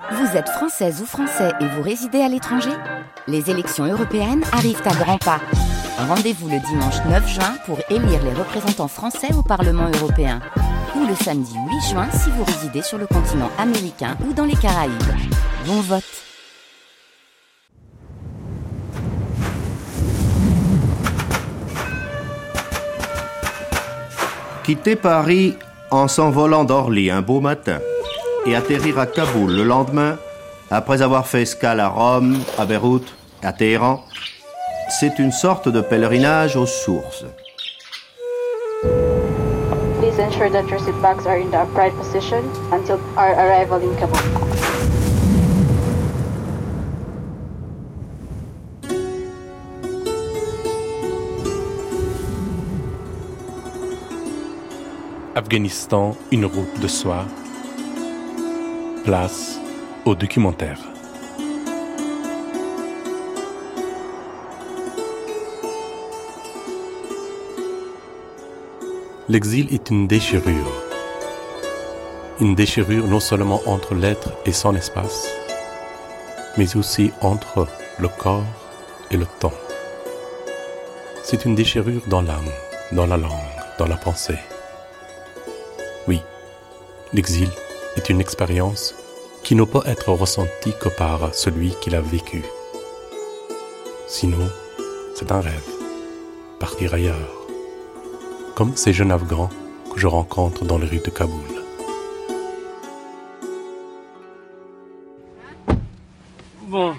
Vous êtes française ou français et vous résidez à l'étranger ? Les élections européennes arrivent à grands pas. Rendez-vous le dimanche 9 juin pour élire les représentants français au Parlement européen. Ou le samedi 8 juin si vous résidez sur le continent américain ou dans les Caraïbes. Bon vote! Quitter Paris en s'envolant d'Orly un beau matin et atterrir à Kaboul le lendemain, après avoir fait escale à Rome, à Beyrouth, à Téhéran, c'est une sorte de pèlerinage aux sources. Please ensure that your seat backs are in the upright position until our arrival in Kabul. Afghanistan, une route de soie. Place au documentaire. L'exil est une déchirure. Une déchirure non seulement entre l'être et son espace, mais aussi entre le corps et le temps. C'est une déchirure dans l'âme, dans la langue, dans la pensée. Oui, l'exil est une expérience qui ne peut être ressentie que par celui qui l'a vécu. Sinon, c'est un rêve, partir ailleurs, comme ces jeunes Afghans que je rencontre dans les rues de Kaboul. Bon,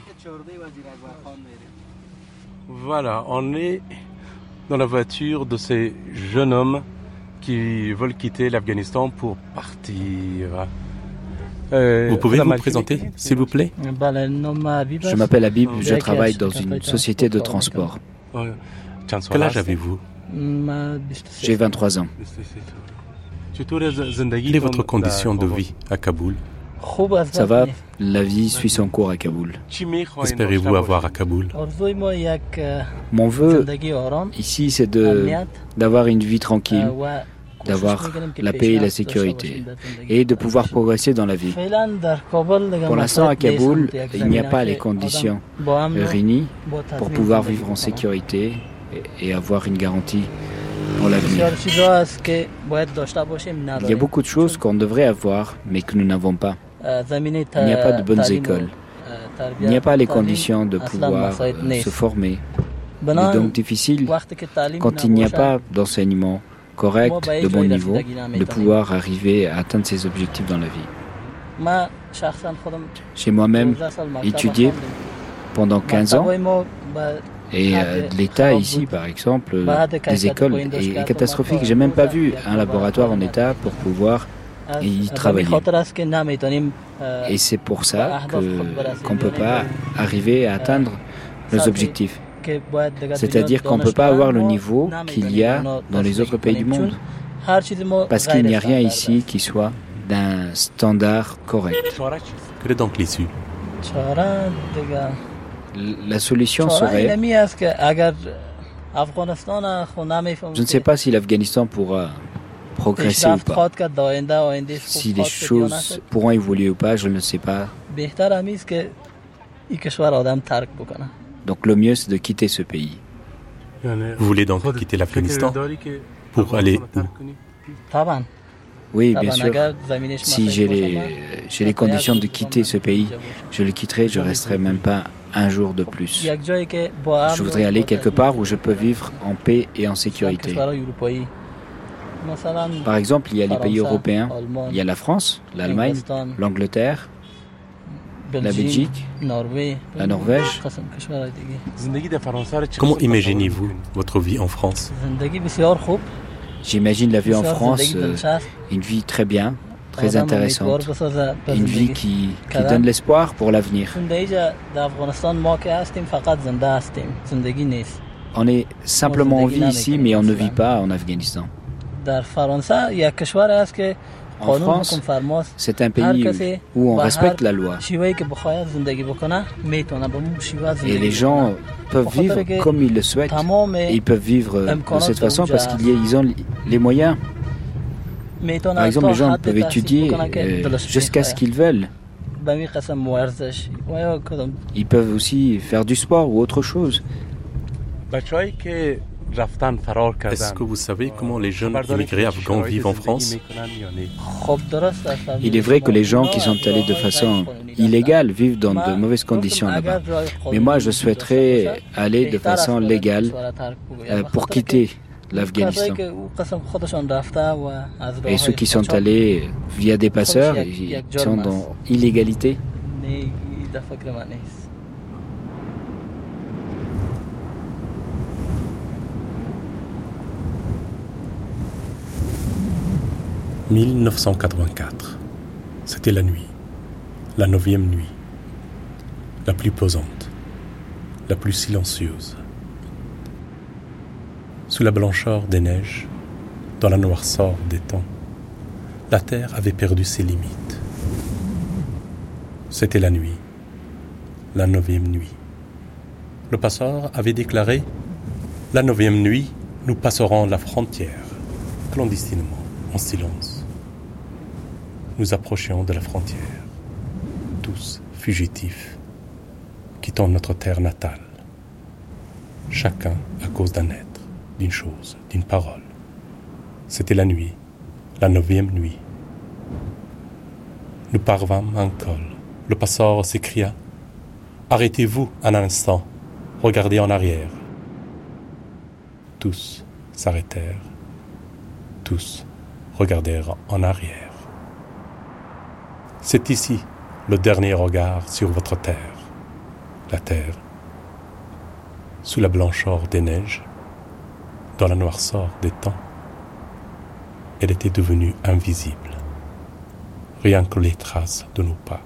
voilà, on est dans la voiture de ces jeunes hommes qui veulent quitter l'Afghanistan pour partir. Vous pouvez vous présenter, s'il vous plaît ? Je m'appelle Habib, je travaille dans une société de transport. Quel âge avez-vous ? J'ai 23 ans. Quelle est votre condition de vie à Kaboul ? Ça va, la vie suit son cours à Kaboul. Qu'espérez-vous avoir à Kaboul ? Mon vœu ici, c'est d'avoir une vie tranquille, d'avoir la paix et la sécurité, et de pouvoir progresser dans la vie. Pour l'instant, à Kaboul, il n'y a pas les conditions réunies pour pouvoir vivre en sécurité et avoir une garantie pour l'avenir. Il y a beaucoup de choses qu'on devrait avoir, mais que nous n'avons pas. Il n'y a pas de bonnes écoles. Il n'y a pas les conditions de pouvoir se former. Il est donc difficile, quand il n'y a pas d'enseignement correct, de bon niveau, de pouvoir arriver à atteindre ses objectifs dans la vie. J'ai moi-même étudié pendant 15 ans et l'État ici, par exemple, des écoles est catastrophique. J'ai même pas vu un laboratoire en état pour pouvoir y travailler. Et c'est pour ça qu'on ne peut pas arriver à atteindre nos objectifs. C'est-à-dire qu'on ne peut pas avoir le niveau qu'il y a dans les autres pays du monde. Parce qu'il n'y a rien ici qui soit d'un standard correct. Quelle est donc l'issue ? La solution serait... Je ne sais pas si l'Afghanistan pourra progresser ou pas. Si les choses pourront évoluer ou pas, je ne sais pas. Donc le mieux, c'est de quitter ce pays. Vous voulez donc quitter l'Afghanistan pour aller où ? Oui, bien sûr. Si j'ai les conditions de quitter ce pays, je le quitterai, je ne resterai même pas un jour de plus. Je voudrais aller quelque part où je peux vivre en paix et en sécurité. Par exemple, il y a les pays européens, il y a la France, l'Allemagne, l'Angleterre, la Belgique, la Norvège. Comment imaginez-vous votre vie en France ? J'imagine la vie en France, une vie très bien, très intéressante, une vie qui donne l'espoir pour l'avenir. On est simplement en vie ici, mais on ne vit pas en Afghanistan. En France, c'est un pays où on respecte la loi. Et les gens peuvent vivre comme ils le souhaitent. Et ils peuvent vivre de cette façon parce qu'ils ont les moyens. Par exemple, les gens peuvent étudier jusqu'à ce qu'ils veulent. Ils peuvent aussi faire du sport ou autre chose. Est-ce que vous savez comment les jeunes immigrés afghans vivent en France? Il est vrai que les gens qui sont allés de façon illégale vivent dans de mauvaises conditions là-bas. Mais moi, je souhaiterais aller de façon légale pour quitter l'Afghanistan. Et ceux qui sont allés via des passeurs, ils sont dans illégalité. « 1984. C'était la nuit, la 9e nuit, la plus pesante, la plus silencieuse. Sous la blancheur des neiges, dans la noirceur des temps, la terre avait perdu ses limites. C'était la nuit, la 9e nuit. Le passeur avait déclaré « La 9e nuit, nous passerons la frontière, clandestinement, en silence. » Nous approchions de la frontière, tous fugitifs, quittant notre terre natale, chacun à cause d'un être, d'une chose, d'une parole. C'était la nuit, la 9e nuit. Nous parvînmes à un col. Le passeur s'écria « Arrêtez-vous un instant, regardez en arrière. » Tous s'arrêtèrent, tous regardèrent en arrière. C'est ici le dernier regard sur votre terre, la terre, sous la blancheur des neiges, dans la noirceur des temps. Elle était devenue invisible, rien que les traces de nos pas.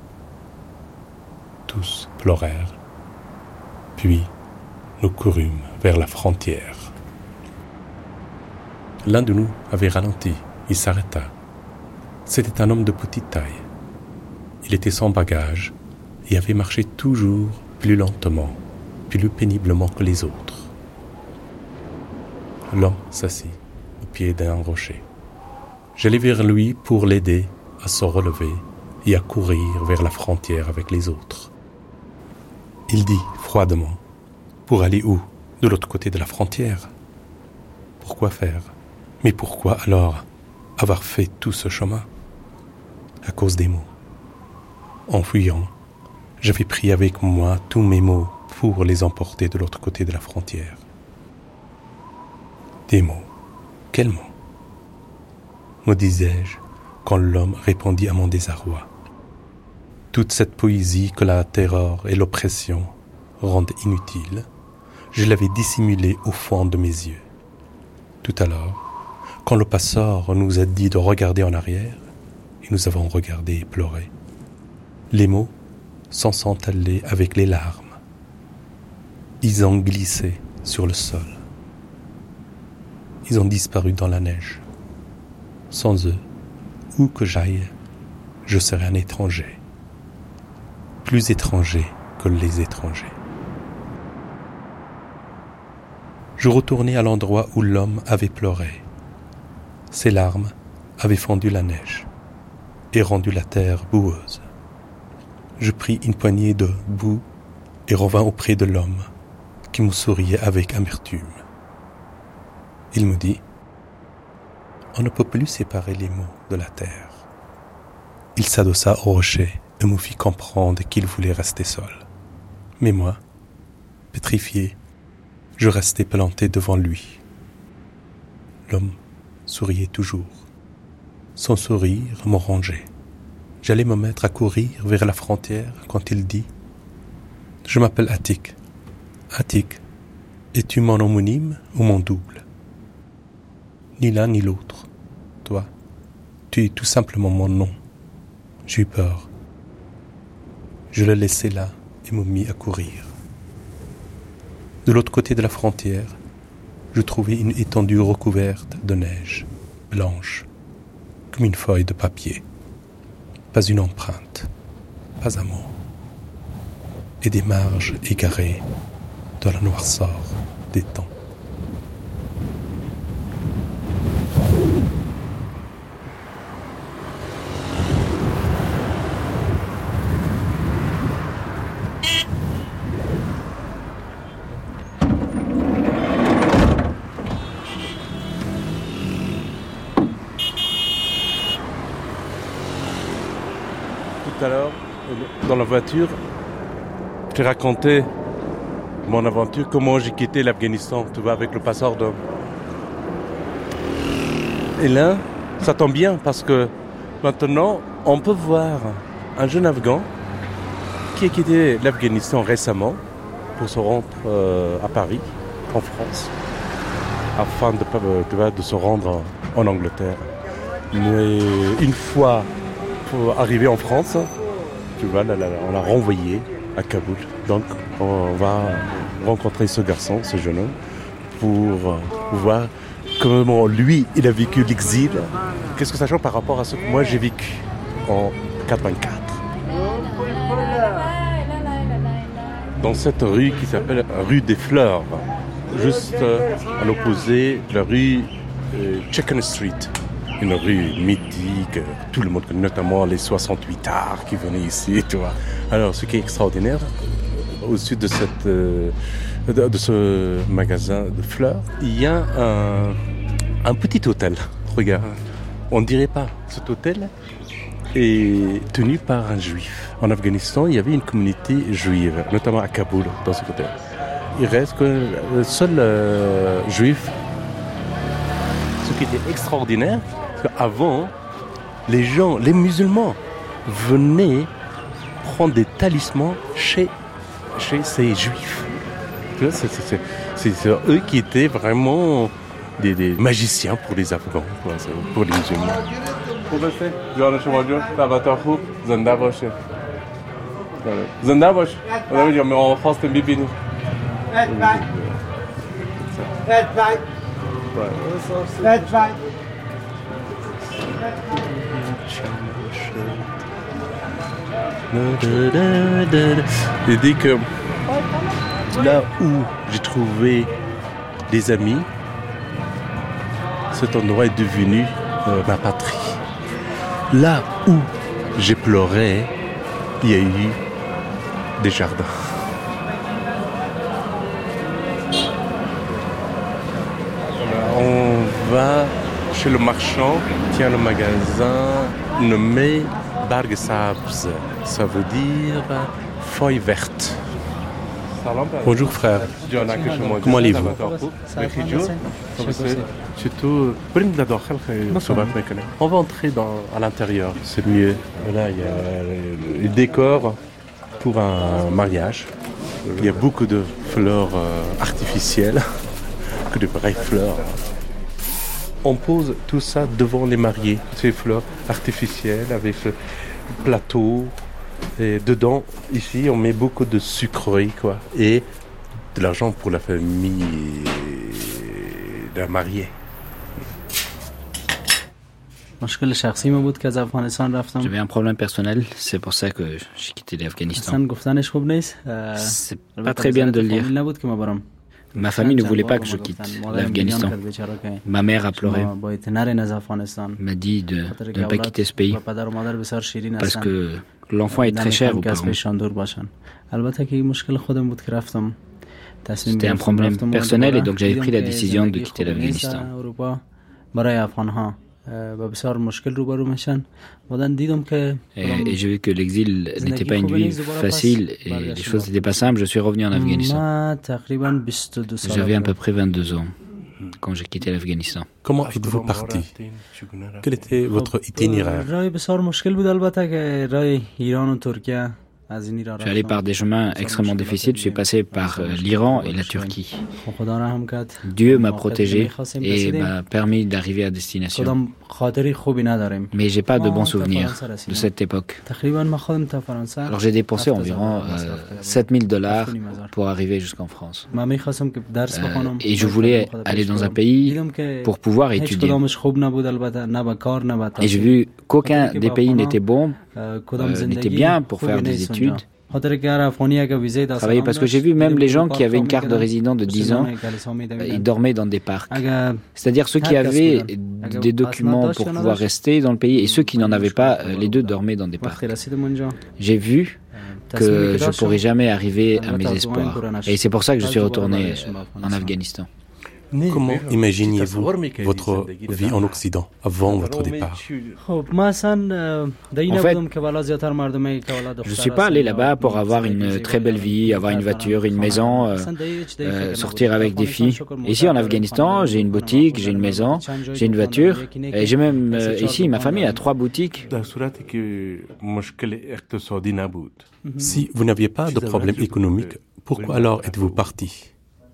Tous pleurèrent, puis nous courûmes vers la frontière. L'un de nous avait ralenti, il s'arrêta. C'était un homme de petite taille. Il était sans bagage et avait marché toujours plus lentement, plus péniblement que les autres. L'homme s'assit au pied d'un rocher. J'allai vers lui pour l'aider à se relever et à courir vers la frontière avec les autres. Il dit froidement « Pour aller où? De l'autre côté de la frontière ?» Pourquoi faire? Mais pourquoi alors avoir fait tout ce chemin? À cause des mots. En fuyant, j'avais pris avec moi tous mes mots pour les emporter de l'autre côté de la frontière. Des mots. Quels mots? Me disais-je quand l'homme répondit à mon désarroi. Toute cette poésie que la terreur et l'oppression rendent inutile, je l'avais dissimulée au fond de mes yeux. Tout à l'heure, quand le passeur nous a dit de regarder en arrière, et nous avons regardé et pleuré, les mots s'en sont allés avec les larmes. Ils ont glissé sur le sol. Ils ont disparu dans la neige. Sans eux, où que j'aille, je serais un étranger. Plus étranger que les étrangers. Je retournai à l'endroit où l'homme avait pleuré. Ses larmes avaient fondu la neige et rendu la terre boueuse. Je pris une poignée de boue et revins auprès de l'homme qui me souriait avec amertume. Il me dit « On ne peut plus séparer les mots de la terre. » Il s'adossa au rocher et me fit comprendre qu'il voulait rester seul. Mais moi, pétrifié, je restais planté devant lui. L'homme souriait toujours. Son sourire me rongeait. J'allais me mettre à courir vers la frontière quand il dit « Je m'appelle Atik. Atik, es-tu mon homonyme ou mon double? » Ni l'un ni l'autre. Toi, tu es tout simplement mon nom. J'ai eu peur. Je le laissai là et me mis à courir. De l'autre côté de la frontière, je trouvai une étendue recouverte de neige, blanche, comme une feuille de papier. Pas une empreinte, pas un mot. Et des marges égarées dans la noirceur des temps. dans la voiture, je t'ai raconté mon aventure, comment j'ai quitté l'Afghanistan, tu vois, avec le passeur d'homme. Et là, ça tombe bien parce que maintenant, on peut voir un jeune Afghan qui a quitté l'Afghanistan récemment pour se rendre à Paris, en France, afin de se rendre en Angleterre. Mais une fois arrivé en France, tu vois, on l'a renvoyé à Kaboul. Donc, on va rencontrer ce garçon, ce jeune homme, pour voir comment lui, il a vécu l'exil. Qu'est-ce que ça change par rapport à ce que moi j'ai vécu en 84. Dans cette rue qui s'appelle rue des Fleurs, juste à l'opposé de la rue Chicken Street. Une rue mythique, tout le monde connaît, notamment les 68 arts qui venaient ici, tu vois. Alors, ce qui est extraordinaire, au-dessus de ce magasin de fleurs, il y a un petit hôtel. Regarde, on ne dirait pas, cet hôtel est tenu par un juif. En Afghanistan, il y avait une communauté juive, notamment à Kaboul, dans ce hôtel. Il reste que le seul juif. Ce qui était extraordinaire, c'est qu'avant, les musulmans venaient prendre des talismans chez ces juifs. C'est eux qui étaient vraiment des magiciens pour les Afghans, pour les musulmans. Il dit que là où j'ai trouvé des amis, cet endroit est devenu ma patrie. Là où j'ai pleuré, il y a eu des jardins. On va chez le marchand, tient le magasin nommé Barg Sabz. Ça veut dire feuille verte. Bonjour frère, comment allez-vous? On va entrer à l'intérieur, c'est mieux. Là, il y a le décor pour un mariage. Il y a beaucoup de fleurs artificielles, que de vraies fleurs. On pose tout ça devant les mariés, ces fleurs artificielles avec ce plateau. Et dedans, ici, on met beaucoup de sucreries, quoi, et de l'argent pour la famille d'un marié. J'avais un problème personnel, c'est pour ça que j'ai quitté l'Afghanistan. C'est pas très bien de le dire. Ma famille ne voulait pas que je quitte l'Afghanistan. Ma mère a pleuré, m'a dit de ne pas quitter ce pays parce que l'enfant est très cher aux parents. C'était un problème personnel et donc j'avais pris la décision de quitter l'Afghanistan. Et j'ai vu que l'exil n'était pas une vie facile et les choses n'étaient pas simples. Je suis revenu en Afghanistan. J'avais à peu près 22 ans quand j'ai quitté l'Afghanistan. Comment êtes-vous parti? Quel était votre itinéraire? Je suis allé par des chemins extrêmement difficiles. Je suis passé par l'Iran et la Turquie. Dieu m'a protégé et m'a permis d'arriver à destination. Mais j'ai pas de bons souvenirs de cette époque. Alors j'ai dépensé environ $7,000 pour arriver jusqu'en France. Et je voulais aller dans un pays pour pouvoir étudier. Et j'ai vu qu'aucun des pays n'était bon, n'était bien pour faire des études. Travailler, parce que j'ai vu même les gens qui avaient une carte de résident de 10 ans, ils dormaient dans des parcs. C'est-à-dire ceux qui avaient des documents pour pouvoir rester dans le pays et ceux qui n'en avaient pas, les deux dormaient dans des parcs. J'ai vu que je ne pourrais jamais arriver à mes espoirs. Et c'est pour ça que je suis retourné en Afghanistan. Comment imaginiez-vous votre vie en Occident avant votre départ? En fait, je ne suis pas allé là-bas pour avoir une très belle vie, avoir une voiture, une maison, sortir avec des filles. Ici en Afghanistan, j'ai une boutique, j'ai une maison, j'ai une voiture et j'ai même ici ma famille a 3 boutiques. Si vous n'aviez pas de problème économique, pourquoi alors êtes-vous parti?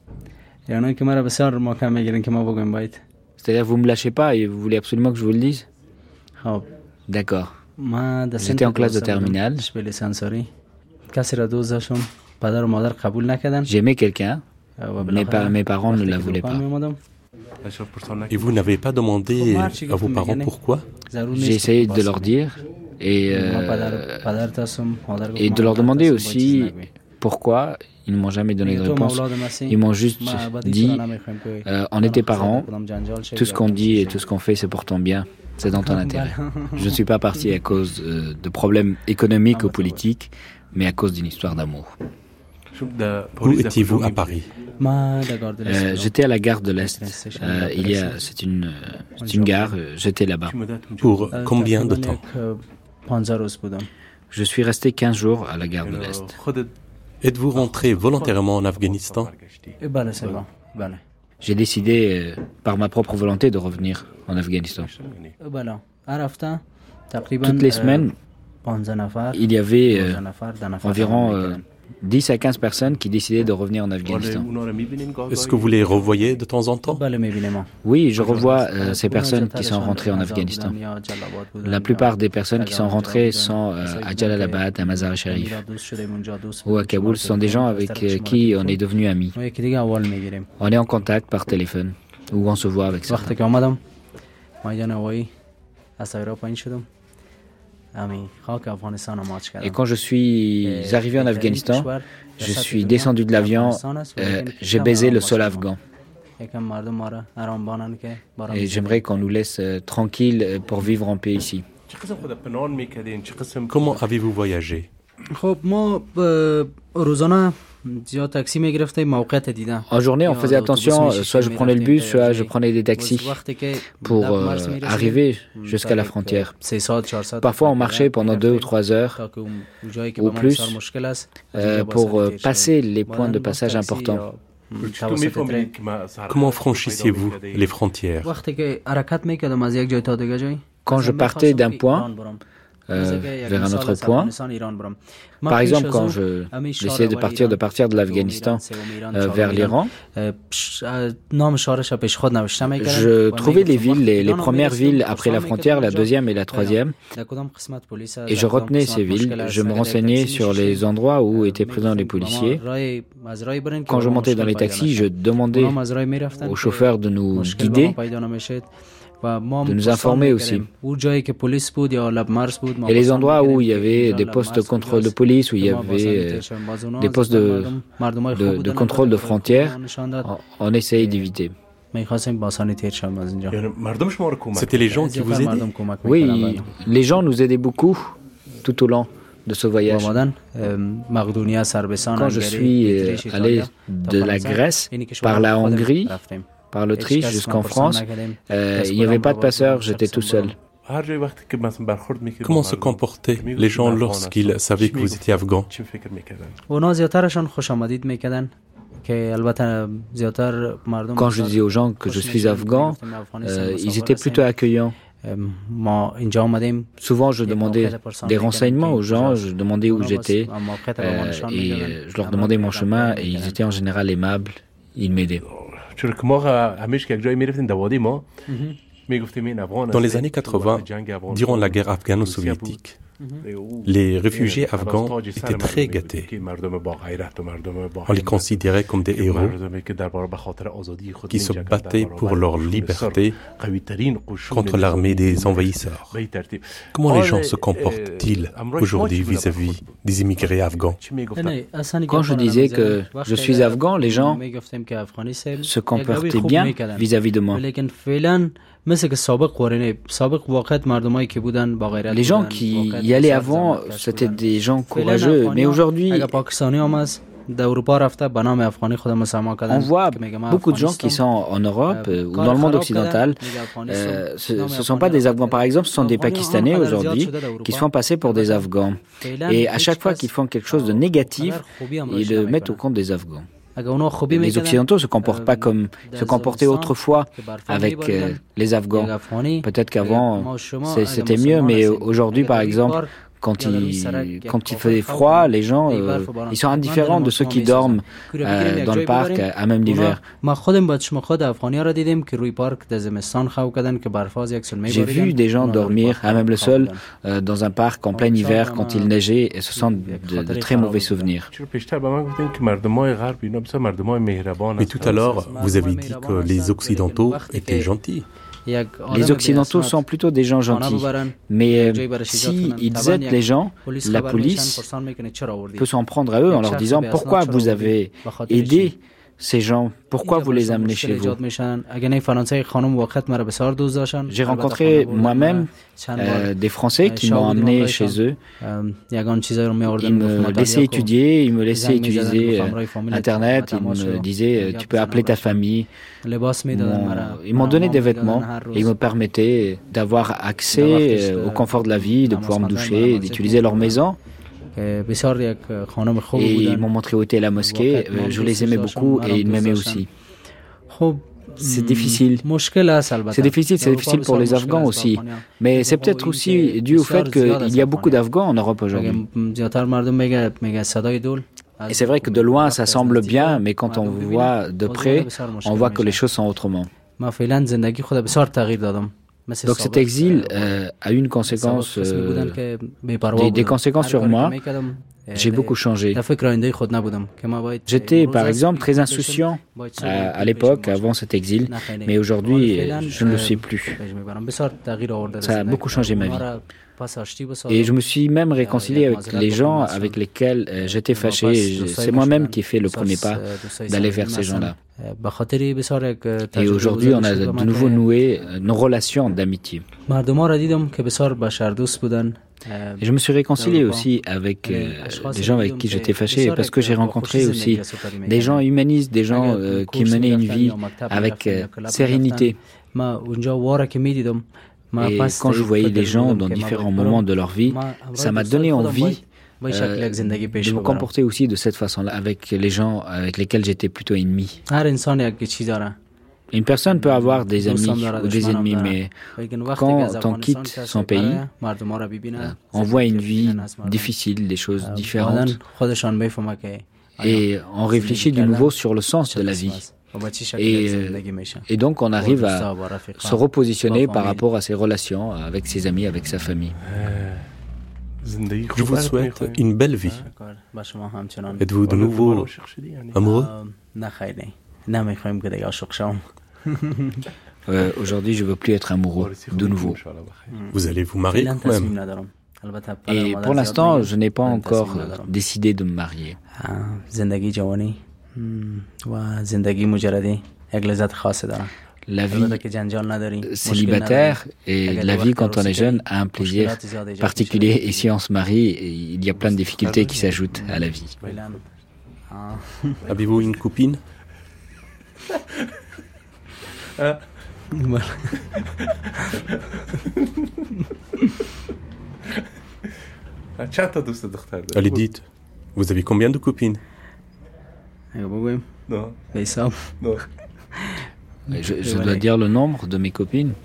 C'est-à-dire vous me lâchez pas et vous voulez absolument que je vous le dise? D'accord. J'étais en classe de terminale. J'aimais quelqu'un, mais mes parents ne la voulaient pas. Et vous n'avez pas demandé à vos parents pourquoi? J'ai essayé de leur dire et de leur demander aussi pourquoi. Ils ne m'ont jamais donné de réponse. Ils m'ont juste dit on est tes parents, tout ce qu'on dit et tout ce qu'on fait, c'est pour ton bien, c'est dans ton intérêt. Je ne suis pas parti à cause de problèmes économiques ou politiques, mais à cause d'une histoire d'amour. Où étiez-vous à Paris? J'étais à la gare de l'Est. C'est une gare, j'étais là-bas. Pour combien de temps? Je suis resté 15 jours à la gare de l'Est. Êtes-vous rentré volontairement en Afghanistan? J'ai décidé par ma propre volonté de revenir en Afghanistan. Toutes les semaines, il y avait environ 10 à 15 personnes qui décidaient de revenir en Afghanistan. Est-ce que vous les revoyez de temps en temps? Oui, je revois ces personnes qui sont rentrées en Afghanistan. La plupart des personnes qui sont rentrées sont à Jalalabad, à Mazar-e-Sharif ou à Kaboul. Ce sont des gens avec qui on est devenus amis. On est en contact par téléphone ou on se voit avec ça. Et quand je suis arrivé en Afghanistan, je suis descendu de l'avion, j'ai baisé le sol afghan. Et j'aimerais qu'on nous laisse tranquilles pour vivre en paix ici. Comment avez-vous voyagé? En journée, on faisait attention, soit je prenais le bus, soit je prenais des taxis pour arriver jusqu'à la frontière. Parfois, on marchait pendant 2 ou 3 heures ou plus pour passer les points de passage importants. Comment franchissiez-vous les frontières? Quand je partais d'un point vers un autre point. Par exemple, quand j'essayais de partir de l'Afghanistan vers l'Iran, je trouvais les villes, les premières villes après la frontière, la deuxième et la troisième, et je retenais ces villes. Je me renseignais sur les endroits où étaient présents les policiers. Quand je montais dans les taxis, je demandais aux chauffeurs de nous guider, de nous informer aussi. Et les endroits où il y avait des postes de contrôle de police, où il y avait des postes de contrôle de frontières, on essayait d'éviter. C'était les gens qui vous aidaient? Oui, les gens nous aidaient beaucoup tout au long de ce voyage. Quand je suis allé de la Grèce par la Hongrie, par l'Autriche jusqu'en France, il n'y avait pas de passeurs, j'étais tout seul. Comment se comportaient les gens lorsqu'ils savaient que vous étiez afghan? Quand je disais aux gens que je suis afghan, ils étaient plutôt accueillants. Souvent, je demandais des renseignements aux gens, je demandais où j'étais, et je leur demandais mon chemin, et ils étaient en général aimables, ils m'aidaient. Dans les années 80, durant la guerre afghano-soviétique, les réfugiés afghans étaient très gâtés. On les considérait comme des héros qui se battaient pour leur liberté contre l'armée des envahisseurs. Comment les gens se comportent-ils aujourd'hui vis-à-vis des immigrés afghans? Quand je disais que je suis afghan, les gens se comportaient bien vis-à-vis de moi. Les gens qui y allaient avant, c'était des gens courageux, mais aujourd'hui, On voit beaucoup de gens qui sont en Europe ou dans le monde occidental. Ce ne sont pas des Afghans, par exemple, ce sont des Pakistanais aujourd'hui qui se font passer pour des Afghans. Et à chaque fois qu'ils font quelque chose de négatif, ils le mettent au compte des Afghans. Les Occidentaux se comportent pas comme se comportaient autrefois avec les Afghans. Peut-être qu'avant c'était mieux, mais aujourd'hui, par exemple, quand il fait froid, les gens ils sont indifférents de ceux qui dorment dans le parc à même l'hiver. J'ai vu des gens dormir à même le sol dans un parc en plein hiver quand il neigeait, et ce sont de très mauvais souvenirs. Mais tout à l'heure, vous avez dit que les Occidentaux étaient gentils. Les Occidentaux sont plutôt des gens gentils, mais si ils aident les gens, la police peut s'en prendre à eux en leur disant « Pourquoi vous avez aidé ces gens, pourquoi vous les amenez chez vous ?» J'ai rencontré moi-même des Français qui m'ont amené chez eux. Ils me laissaient étudier, ils me laissaient utiliser Internet, ils me disaient « Tu peux appeler ta famille ». Ils m'ont donné des vêtements et ils me permettaient d'avoir accès au confort de la vie, de pouvoir me doucher, d'utiliser leur maison. Et ils m'ont montré où était la mosquée. Je les aimais beaucoup et ils m'aimaient aussi. C'est difficile. C'est difficile pour les Afghans aussi. Mais c'est peut-être aussi dû au fait qu'il y a beaucoup d'Afghans en Europe aujourd'hui. Et c'est vrai que de loin, ça semble bien, mais quand on voit de près, on voit que les choses sont autrement. Donc cet exil a eu une conséquence, des conséquences sur moi. J'ai beaucoup changé. J'étais, par exemple, très insouciant à l'époque, avant cet exil, mais aujourd'hui, je ne le suis plus. Ça a beaucoup changé ma vie. Et je me suis même réconcilié avec les gens avec lesquels j'étais fâché. C'est moi-même qui ai fait le premier pas d'aller vers ces gens-là. Et aujourd'hui, on a de nouveau noué nos relations d'amitié. Et je me suis réconcilié aussi avec des gens avec qui j'étais fâché, parce que j'ai rencontré aussi des gens humanistes, des gens qui menaient une vie avec sérénité. Et quand je voyais les gens dans différents moments de leur vie, ça m'a donné envie de me comporter aussi de cette façon-là avec les gens avec lesquels j'étais plutôt ennemi. Une personne peut avoir des amis ou des ennemis, mais quand on quitte son pays, on voit une vie difficile, des choses différentes, et on réfléchit de nouveau sur le sens de la vie. Et donc on arrive à se repositionner par rapport à ses relations avec ses amis, avec sa famille. Je vous souhaite une belle vie. Êtes-vous de nouveau amoureux? Aujourd'hui, je ne veux plus être amoureux, de nouveau. Vous allez vous marier quand même? Et pour l'instant, je n'ai pas encore décidé de me marier. La vie célibataire et la vie quand on est jeune a un plaisir particulier, et si on se marie, il y a plein de difficultés qui s'ajoutent à la vie. Avez-vous une copine? Allez, dites, vous avez combien de copines? Non. Je dois dire le nombre de mes copines.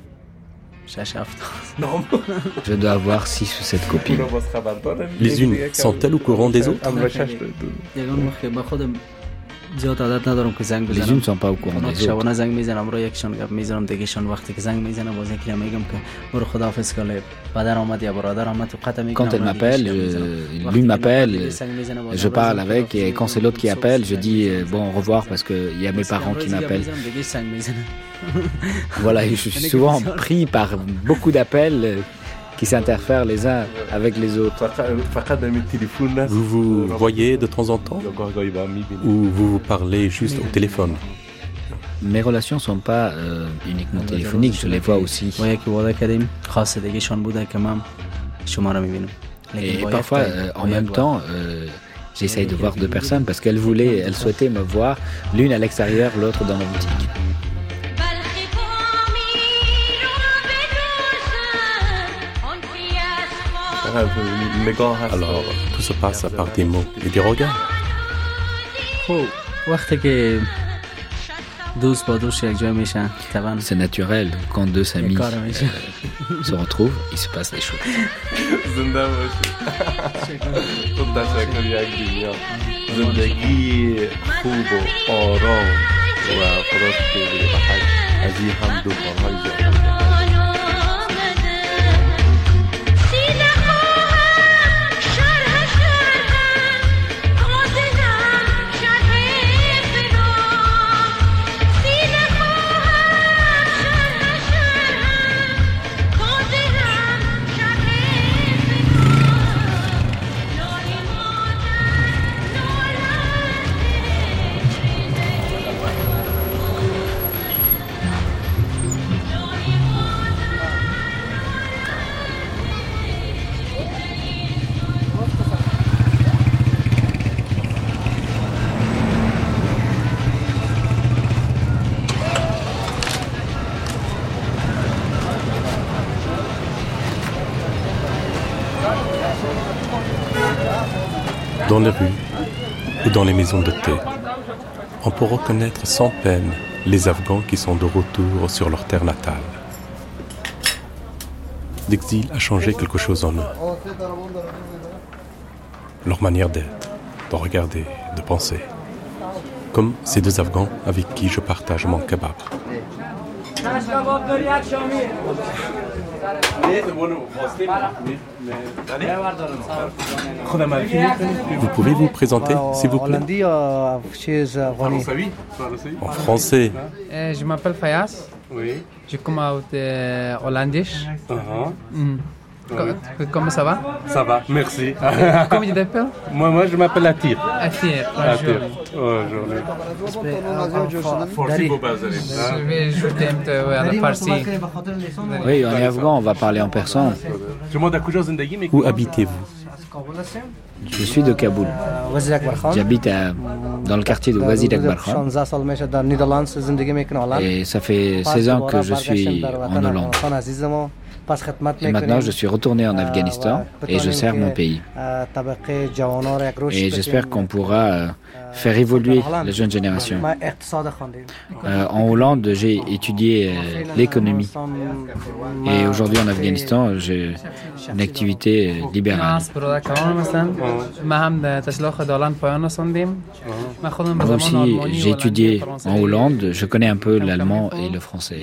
Je dois avoir 6 ou 7 copines. Les unes sont-elles au courant des autres? Les unes ne sont pas au courant des autres. Quand elle m'appelle, l'une m'appelle, je parle avec, et quand c'est l'autre qui appelle, je dis bon, au revoir, parce qu'il y a mes parents qui m'appellent. Voilà, et je suis souvent pris par beaucoup d'appels qui s'interfèrent les uns avec les autres. Vous vous voyez de temps en temps ou vous vous parlez juste au téléphone? Mes relations ne sont pas uniquement téléphoniques, je les vois aussi. Et parfois, en même temps, J'essaye de voir 2 personnes parce qu'elles souhaitaient me voir, l'une à l'extérieur, l'autre dans ma boutique. Alors, tout se passe par des mots et des regards. C'est naturel, quand 2 amis se retrouvent, il se passe des choses. Dans les rues ou dans les maisons de thé, on peut reconnaître sans peine les Afghans qui sont de retour sur leur terre natale. L'exil a changé quelque chose en eux. Leur manière d'être, de regarder, de penser. Comme ces 2 Afghans avec qui je partage mon kebab. Vous pouvez vous présenter, s'il vous plaît? En français. Je m'appelle Fayas. Oui. Je commence hollandais. Comment ça va? Ça va, merci. Comment tu t'appelles? Moi, je m'appelle Atir. Atir. Je vais ajouter un peu à la farsi. Oui, on est afghan, on va parler en persan. Où habitez-vous? Je suis de Kaboul. J'habite dans le quartier de Wazir Akbar Khan. Et ça fait 16 ans que je suis en Hollande. Et maintenant, je suis retourné en Afghanistan et je sers mon pays. Et j'espère qu'on pourra faire évoluer la jeune génération. En Hollande, j'ai étudié l'économie. Et aujourd'hui, en Afghanistan, j'ai une activité libérale. Moi aussi, j'ai étudié en Hollande. Je connais un peu l'allemand et le français.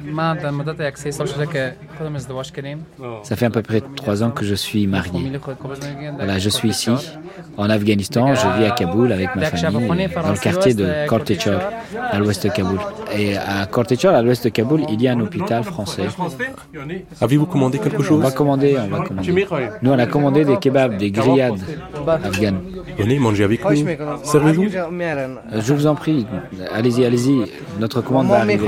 Ça fait à peu près 3 ans que je suis marié. Voilà, je suis ici, en Afghanistan. Je vis à Kaboul avec ma famille, dans le quartier de Kortechor, à l'ouest de Kaboul. Et à Kortechor, à l'ouest de Kaboul, il y a un hôpital français. Avez-vous commandé quelque chose? On va commander. Nous, on a commandé des kebabs, des grillades afghanes. Venez manger avec nous. Servez-vous? Je vous en prie, allez-y. Notre commande va arriver.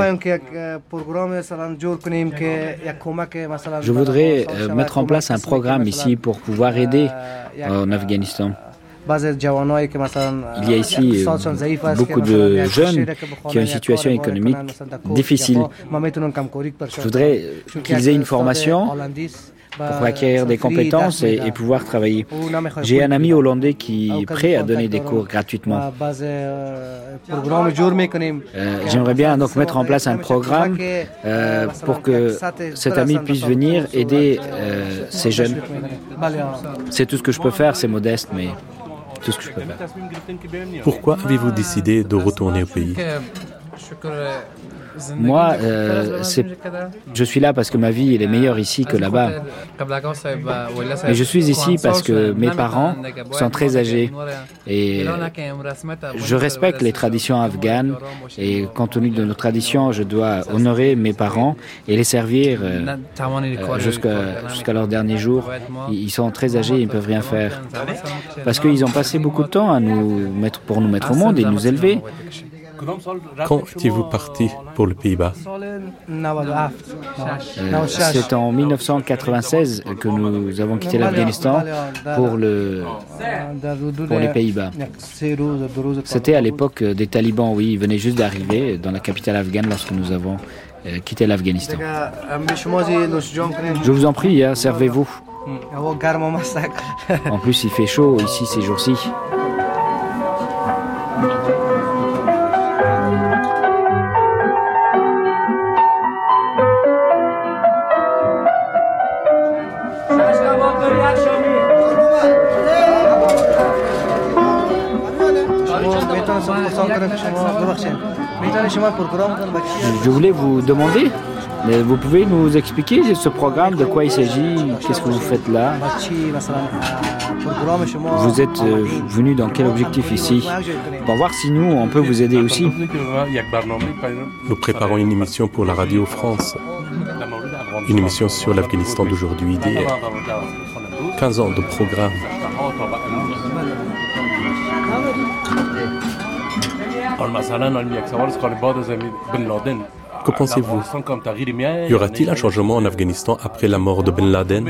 Je voudrais mettre en place un programme ici pour pouvoir aider en Afghanistan. Il y a ici beaucoup de jeunes qui ont une situation économique difficile. Je voudrais qu'ils aient une formation pour acquérir des compétences et pouvoir travailler. J'ai un ami hollandais qui est prêt à donner des cours gratuitement. J'aimerais bien donc mettre en place un programme pour que cet ami puisse venir aider ces jeunes. C'est tout ce que je peux faire, c'est modeste, mais tout ce que je peux faire. Pourquoi avez-vous décidé de retourner au pays? Moi, je suis là parce que ma vie elle est meilleure ici que là-bas. Mais je suis ici parce que mes parents sont très âgés et je respecte les traditions afghanes et compte tenu de nos traditions, je dois honorer mes parents et les servir jusqu'à leurs derniers jours. Ils sont très âgés, ils ne peuvent rien faire. Parce qu'ils ont passé beaucoup de temps à pour nous mettre au monde et nous élever. Quand étiez-vous parti pour les Pays-Bas? C'est en 1996 que nous avons quitté l'Afghanistan pour les Pays-Bas. C'était à l'époque des talibans, oui, ils venaient juste d'arriver dans la capitale afghane lorsque nous avons quitté l'Afghanistan. Je vous en prie, servez-vous. En plus, il fait chaud ici ces jours-ci. Je voulais vous demander, vous pouvez nous expliquer ce programme, de quoi il s'agit, qu'est-ce que vous faites là? Vous êtes venu dans quel objectif ici? Pour voir si nous, on peut vous aider aussi. Nous préparons une émission pour la Radio France, une émission sur l'Afghanistan d'aujourd'hui, d'hier. 15 ans de programme. Que pensez-vous? Y aura-t-il un changement en Afghanistan après la mort de Ben Laden?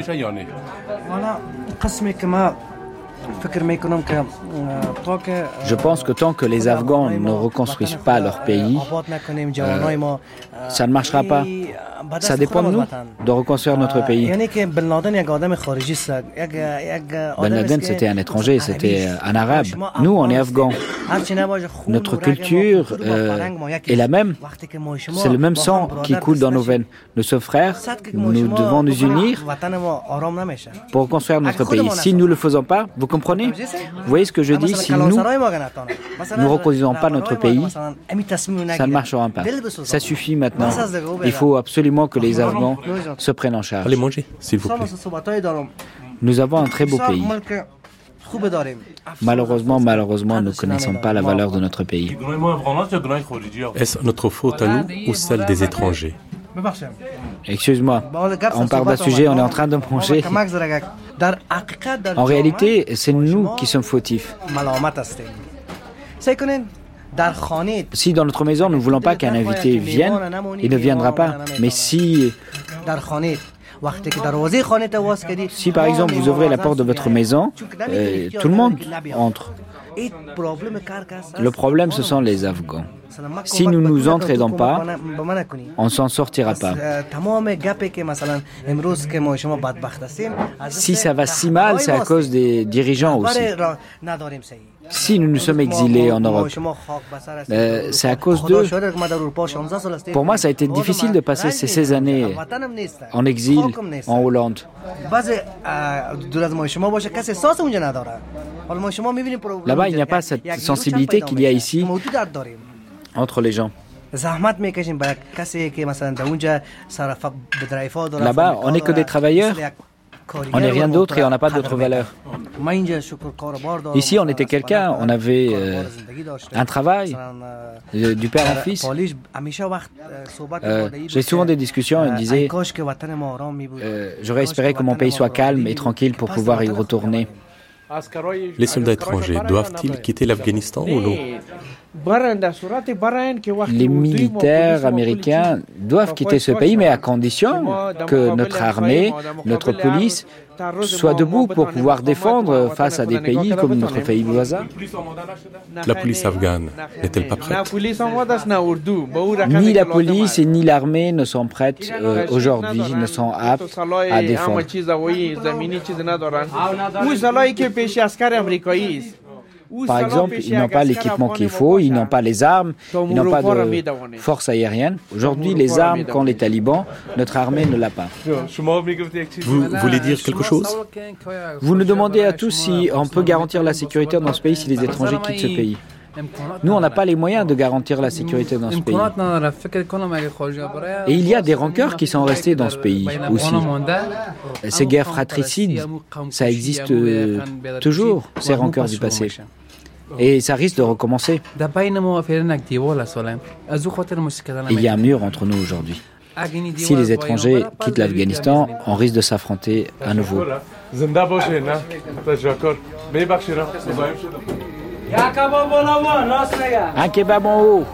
Je pense que tant que les Afghans ne reconstruisent pas leur pays, ça ne marchera pas. Ça dépend de nous de reconstruire notre pays. Ben Laden, c'était un étranger, c'était un arabe. Nous, on est afghans. Notre culture est la même. C'est le même sang qui coule dans nos veines. Nous sommes frères, nous devons nous unir pour reconstruire notre pays. Si nous ne le faisons pas, vous comprenez? Vous voyez ce que je dis? Si nous ne reconstruisons pas notre pays, ça ne marchera pas. Ça suffit maintenant. Il faut absolument que les Afghans se prennent en charge. Allez manger, s'il vous plaît. Nous avons un très beau pays. Malheureusement, nous ne connaissons pas la valeur de notre pays. Est-ce notre faute à nous ou celle des étrangers? Excuse-moi, on parle d'un sujet, on est en train de manger. En réalité, c'est nous qui sommes fautifs. Si dans notre maison, nous ne voulons pas qu'un invité vienne, il ne viendra pas. Mais si par exemple vous ouvrez la porte de votre maison, tout le monde entre. Le problème, ce sont les Afghans. Si nous ne nous entraidons pas, on ne s'en sortira pas. Si ça va si mal, c'est à cause des dirigeants aussi. Si nous nous sommes exilés en Europe, c'est à cause d'eux. Pour moi, ça a été difficile de passer ces 16 années en exil en Hollande. Là-bas, il n'y a pas cette sensibilité qu'il y a ici entre les gens. Là-bas, on n'est que des travailleurs. On n'est rien d'autre et on n'a pas d'autre valeur. Ici, on était quelqu'un, on avait un travail, du père en fils. J'ai souvent des discussions, il me disait j'aurais espéré que mon pays soit calme et tranquille pour pouvoir y retourner. Les soldats étrangers doivent-ils quitter l'Afghanistan ou non? Les militaires américains doivent quitter ce pays, mais à condition que notre armée, notre police soit debout pour pouvoir défendre face à des pays comme notre pays voisin. La police afghane n'est-elle pas prête? Ni la police et ni l'armée ne sont prêtes aujourd'hui, ne sont aptes à défendre. Par exemple, ils n'ont pas l'équipement qu'il faut, ils n'ont pas les armes, ils n'ont pas de force aérienne. Aujourd'hui, les armes qu'ont les talibans, notre armée ne l'a pas. Vous voulez dire quelque chose? Vous nous demandez à tous si on peut garantir la sécurité dans ce pays si les étrangers quittent ce pays. Nous, on n'a pas les moyens de garantir la sécurité dans ce pays. Et il y a des rancœurs qui sont restés dans ce pays aussi. Ces guerres fratricides, ça existe toujours, ces rancœurs du passé. Et ça risque de recommencer. Et il y a un mur entre nous aujourd'hui. Si les étrangers quittent l'Afghanistan, on risque de s'affronter à nouveau. Un kebab en haut.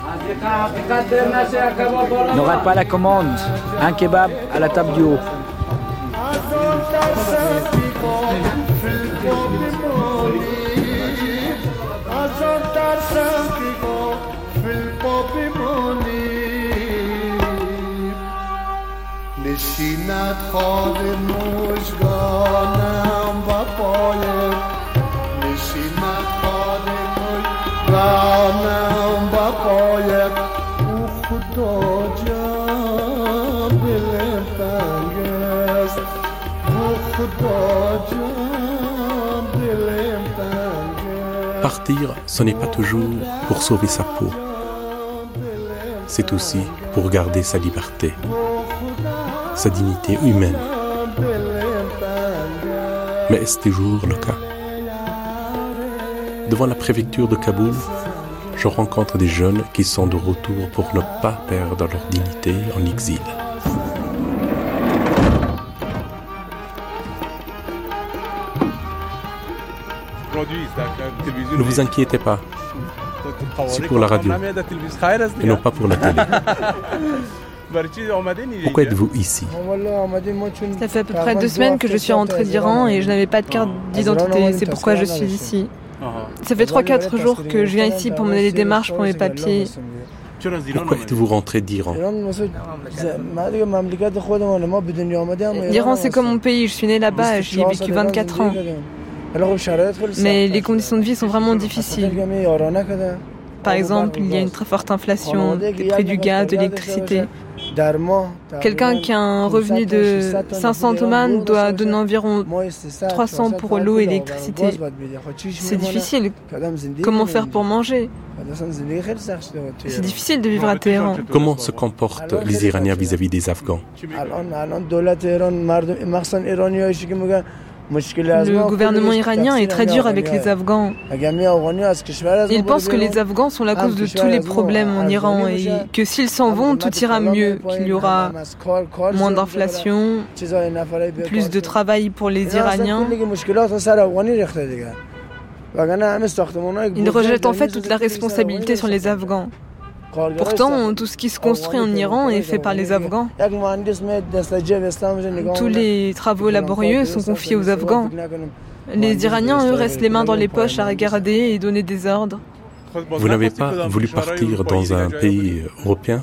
Ne rate pas la commande. Un kebab à la table du haut. نشیند خواب مژگانم و پایم نشیند خواب مژگانم و پایم او خدا جان دلم تنگ است او خدا جان دلم تنگ است. Partir, ce n'est pas toujours pour sauver sa peau. C'est aussi pour garder sa liberté, sa dignité humaine. Mais est-ce toujours le cas? Devant la préfecture de Kaboul, je rencontre des jeunes qui sont de retour pour ne pas perdre leur dignité en exil. Ne vous inquiétez pas, c'est pour la radio et non pas pour la télé. Pourquoi êtes-vous ici? Ça fait à peu près 2 semaines que je suis rentrée d'Iran et je n'avais pas de carte d'identité, c'est pourquoi je suis ici. Ça fait 3-4 jours que je viens ici pour mener les démarches pour mes papiers. Pourquoi êtes-vous rentré d'Iran? L'Iran c'est comme mon pays, je suis née là-bas et j'y ai vécu 24 ans. Mais les conditions de vie sont vraiment difficiles. Par exemple, il y a une très forte inflation des prix du gaz, de l'électricité. Quelqu'un qui a un revenu de 500 toman doit donner environ 300 pour l'eau et l'électricité. C'est difficile. Comment faire pour manger? C'est difficile de vivre à Téhéran. Comment se comportent les Iraniens vis-à-vis des Afghans? Le gouvernement iranien est très dur avec les Afghans. Ils pensent que les Afghans sont la cause de tous les problèmes en Iran et que s'ils s'en vont, tout ira mieux, qu'il y aura moins d'inflation, plus de travail pour les Iraniens. Ils rejettent en fait toute la responsabilité sur les Afghans. Pourtant, tout ce qui se construit en Iran est fait par les Afghans. Tous les travaux laborieux sont confiés aux Afghans. Les Iraniens, eux, restent les mains dans les poches à regarder et donner des ordres. Vous n'avez pas voulu partir dans un pays européen?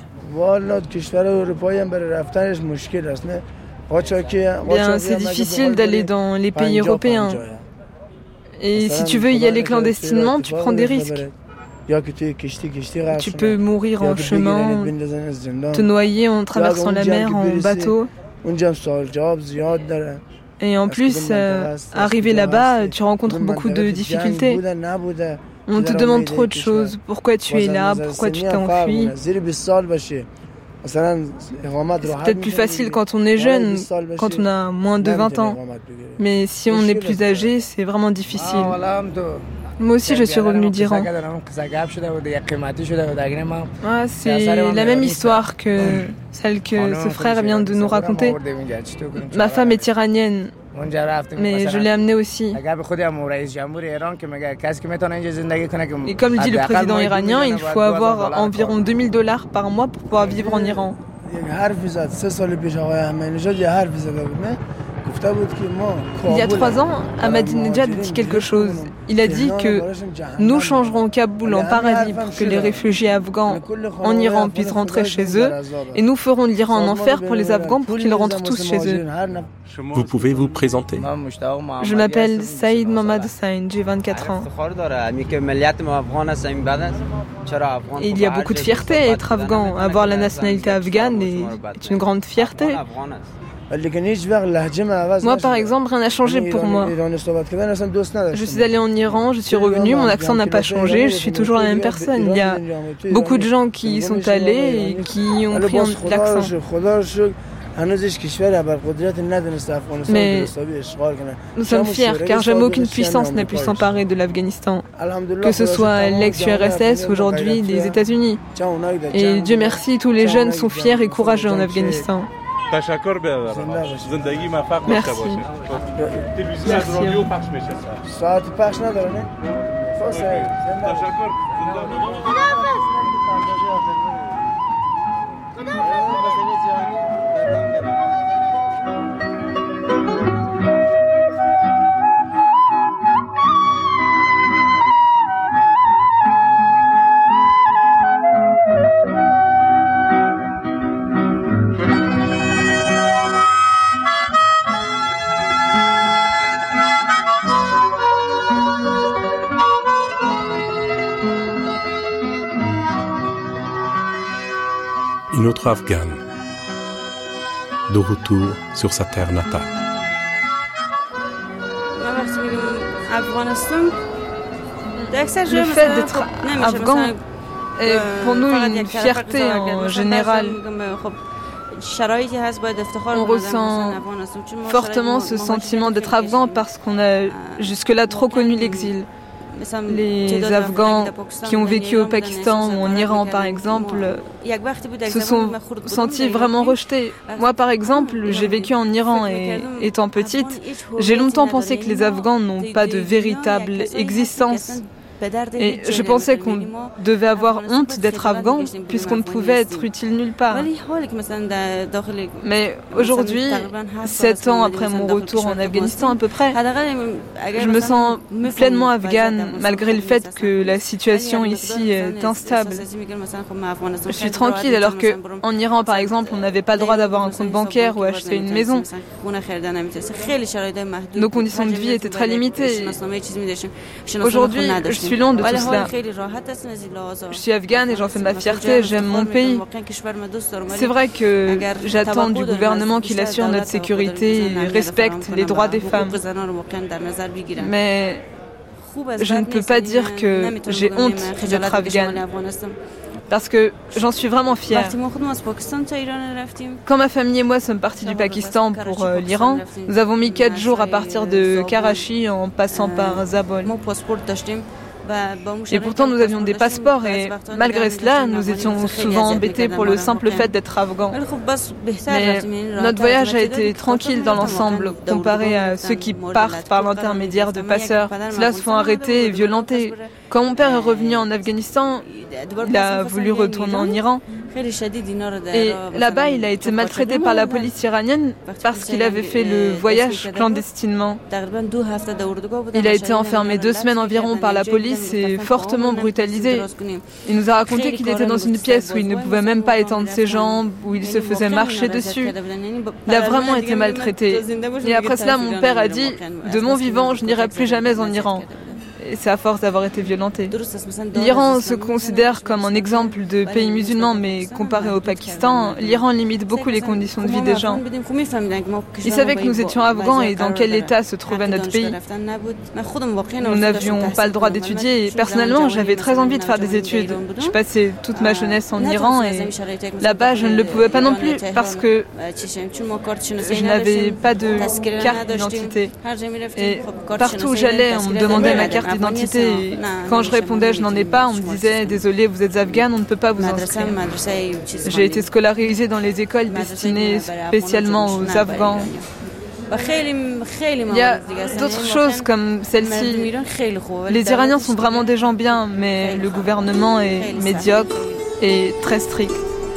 Bien, c'est difficile d'aller dans les pays européens. Et si tu veux y aller clandestinement, tu prends des risques. Tu peux mourir en chemin, te noyer en traversant la mer en bateau. Et en plus, arrivé là-bas, tu rencontres beaucoup de difficultés. On te demande trop de choses. Pourquoi tu es là? Pourquoi tu t'es enfui? C'est peut-être plus facile quand on est jeune, quand on a moins de 20 ans. Mais si on est plus âgé, c'est vraiment difficile. Moi aussi, je suis revenue d'Iran. C'est la même histoire que celle que ce frère vient de nous raconter. Ma femme est iranienne, mais je l'ai amenée aussi. Et comme dit le président iranien, il faut avoir environ $2000 par mois pour pouvoir vivre en Iran. Il y a 3 ans, Ahmadinejad a dit quelque chose. Il a dit que nous changerons Kaboul en paradis pour que les réfugiés afghans en Iran puissent rentrer chez eux et nous ferons l'Iran en enfer pour les Afghans pour qu'ils rentrent tous chez eux. Vous pouvez vous présenter? Je m'appelle Saïd Mohammad Hussain, j'ai 24 ans. Et il y a beaucoup de fierté à être afghan. Avoir la nationalité afghane est une grande fierté. Moi, par exemple, rien n'a changé pour moi. Je suis allée en Iran, je suis revenue, mon accent n'a pas changé, je suis toujours la même personne. Il y a beaucoup de gens qui y sont allés et qui ont pris l'accent. Mais nous sommes fiers car jamais aucune puissance n'a pu s'emparer de l'Afghanistan, que ce soit l'ex-URSS ou aujourd'hui les États-Unis. Et Dieu merci, tous les jeunes sont fiers et courageux en Afghanistan. Merci. Merci. Une autre Afghane, de retour sur sa terre natale. Le fait d'être afghan est pour nous une fierté en général. On ressent fortement ce sentiment d'être afghan parce qu'on a jusque-là trop connu l'exil. Les Afghans qui ont vécu au Pakistan ou en Iran, par exemple, se sont sentis vraiment rejetés. Moi, par exemple, j'ai vécu en Iran et, étant petite, j'ai longtemps pensé que les Afghans n'ont pas de véritable existence. Et je pensais qu'on devait avoir honte d'être afghan puisqu'on ne pouvait être utile nulle part. Mais aujourd'hui, 7 ans après mon retour en Afghanistan à peu près, je me sens pleinement afghane malgré le fait que la situation ici est instable. Je suis tranquille alors qu'en Iran par exemple, on n'avait pas le droit d'avoir un compte bancaire ou acheter une maison. Nos conditions de vie étaient très limitées. Aujourd'hui, je suis loin de tout cela. Je suis afghane et j'en fais ma fierté, j'aime mon pays. C'est vrai que j'attends du gouvernement qu'il assure notre sécurité et respecte les droits des femmes. Mais je ne peux pas dire que j'ai honte d'être afghane. Parce que j'en suis vraiment fière. Quand ma famille et moi sommes partis du Pakistan pour l'Iran, nous avons mis 4 jours à partir de Karachi en passant par Zabol. Et pourtant nous avions des passeports et malgré cela nous étions souvent embêtés pour le simple fait d'être afghans. Mais notre voyage a été tranquille dans l'ensemble comparé à ceux qui partent par l'intermédiaire de passeurs. Ceux-là se font arrêter et violenter. Quand mon père est revenu en Afghanistan, il a voulu retourner en Iran. Et là-bas, il a été maltraité par la police iranienne parce qu'il avait fait le voyage clandestinement. Il a été enfermé 2 semaines environ par la police et fortement brutalisé. Il nous a raconté qu'il était dans une pièce où il ne pouvait même pas étendre ses jambes, où il se faisait marcher dessus. Il a vraiment été maltraité. Et après cela, mon père a dit « De mon vivant, je n'irai plus jamais en Iran ». Et c'est à force d'avoir été violenté. L'Iran se considère comme un exemple de pays musulman, mais comparé au Pakistan, l'Iran limite beaucoup les conditions de vie des gens. Ils savaient que nous étions afghans et dans quel état se trouvait notre pays. Nous n'avions pas le droit d'étudier et personnellement, j'avais très envie de faire des études. Je passais toute ma jeunesse en Iran et là-bas, je ne le pouvais pas non plus parce que je n'avais pas de carte d'identité. Et partout où j'allais, on me demandait ma carte d'identité. Et quand je répondais je n'en ai pas, on me disait désolé, vous êtes afghane, on ne peut pas vous inscrire. J'ai été scolarisée dans les écoles destinées spécialement aux Afghans. Il y a d'autres choses comme celle-ci. Les Iraniens sont vraiment des gens bien, mais le gouvernement est médiocre et très strict.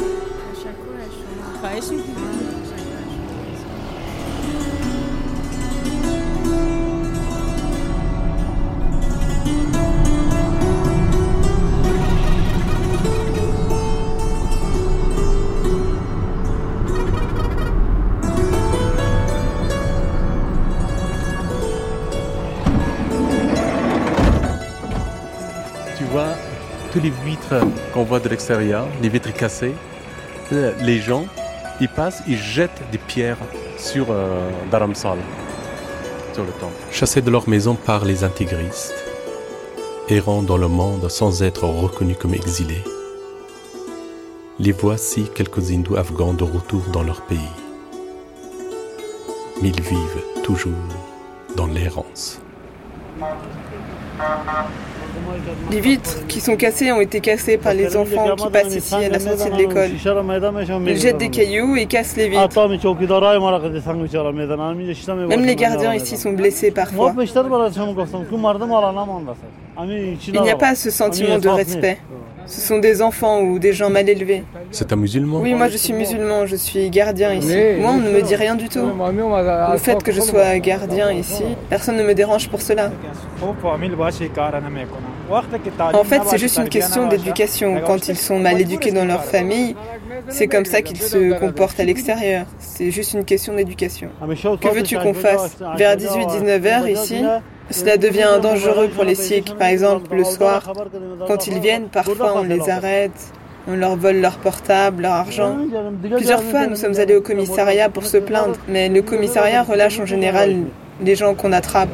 Tous les vitres qu'on voit de l'extérieur, les vitres cassées, les gens, ils passent, ils jettent des pierres sur Dharamsala, sur le temple. Chassés de leur maison par les intégristes, errant dans le monde sans être reconnus comme exilés, les voici quelques hindous afghans de retour dans leur pays. Mais ils vivent toujours dans l'errance. Les vitres qui sont cassées ont été cassées par les enfants qui passent ici à la sortie de l'école. Ils jettent des cailloux et cassent les vitres. Même les gardiens ici sont blessés parfois. Il n'y a pas ce sentiment de respect. Ce sont des enfants ou des gens mal élevés. C'est un musulman? Oui, moi je suis musulman, je suis gardien ici. Moi, on ne me dit rien du tout. Le fait que je sois gardien ici, personne ne me dérange pour cela. En fait, c'est juste une question d'éducation. Quand ils sont mal éduqués dans leur famille, c'est comme ça qu'ils se comportent à l'extérieur. C'est juste une question d'éducation. Que veux-tu qu'on fasse? Vers 18-19 heures ici, cela devient dangereux pour les Sikhs. Par exemple, le soir, quand ils viennent, parfois on les arrête, on leur vole leur portable, leur argent. Plusieurs fois, nous sommes allés au commissariat pour se plaindre, mais le commissariat relâche en général les gens qu'on attrape.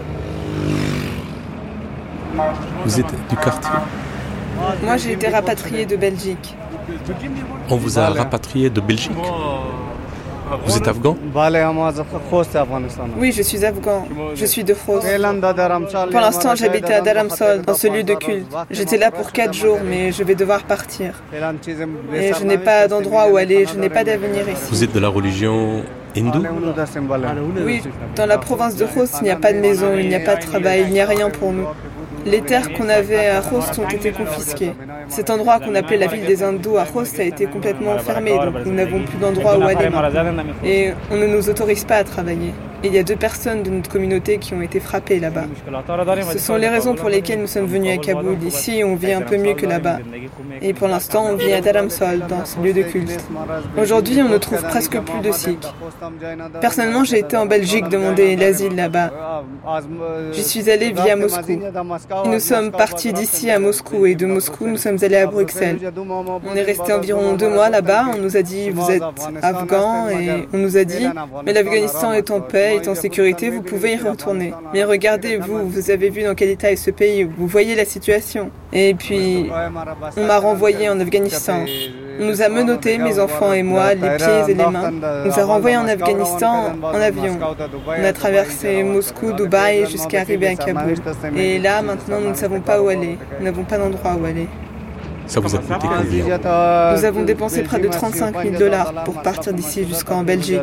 Vous êtes du quartier? Moi, j'ai été rapatriée de Belgique. On vous a rapatrié de Belgique? Vous êtes afghan? Oui, je suis afghan. Je suis de Khost. Pour l'instant, j'habitais à Dharamsol, dans ce lieu de culte. J'étais là pour 4 jours, mais je vais devoir partir. Et je n'ai pas d'endroit où aller, je n'ai pas d'avenir ici. Vous êtes de la religion hindoue? Oui, dans la province de Khost, il n'y a pas de maison, il n'y a pas de travail, il n'y a rien pour nous. Les terres qu'on avait à Khost ont été confisquées. Cet endroit qu'on appelait la ville des hindous à Khost a été complètement fermé, donc nous n'avons plus d'endroit où aller. Et on ne nous autorise pas à travailler. Et il y a 2 personnes de notre communauté qui ont été frappées là-bas. Ce sont les raisons pour lesquelles nous sommes venus à Kaboul. Ici, on vit un peu mieux que là-bas. Et pour l'instant, on vit à Dharamsol, dans ce lieu de culte. Aujourd'hui, on ne trouve presque plus de Sikhs. Personnellement, j'ai été en Belgique demander l'asile là-bas. J'y suis allée via Moscou. Et nous sommes partis d'ici à Moscou, et de Moscou, nous sommes allés à Bruxelles. On est resté environ 2 mois là-bas. On nous a dit, vous êtes afghans, et on nous a dit, mais l'Afghanistan est en paix, est en sécurité, vous pouvez y retourner. Mais regardez, vous avez vu dans quel état est ce pays, vous voyez la situation. Et puis, on m'a renvoyé en Afghanistan. On nous a menottés, mes enfants et moi, les pieds et les mains. On nous a renvoyés en Afghanistan en avion. On a traversé Moscou, Dubaï, jusqu'à arriver à Kaboul. Et là, maintenant, nous ne savons pas où aller. Nous n'avons pas d'endroit où aller. Ça vous a coûté combien? Nous avons dépensé près de $35,000 pour partir d'ici jusqu'en Belgique.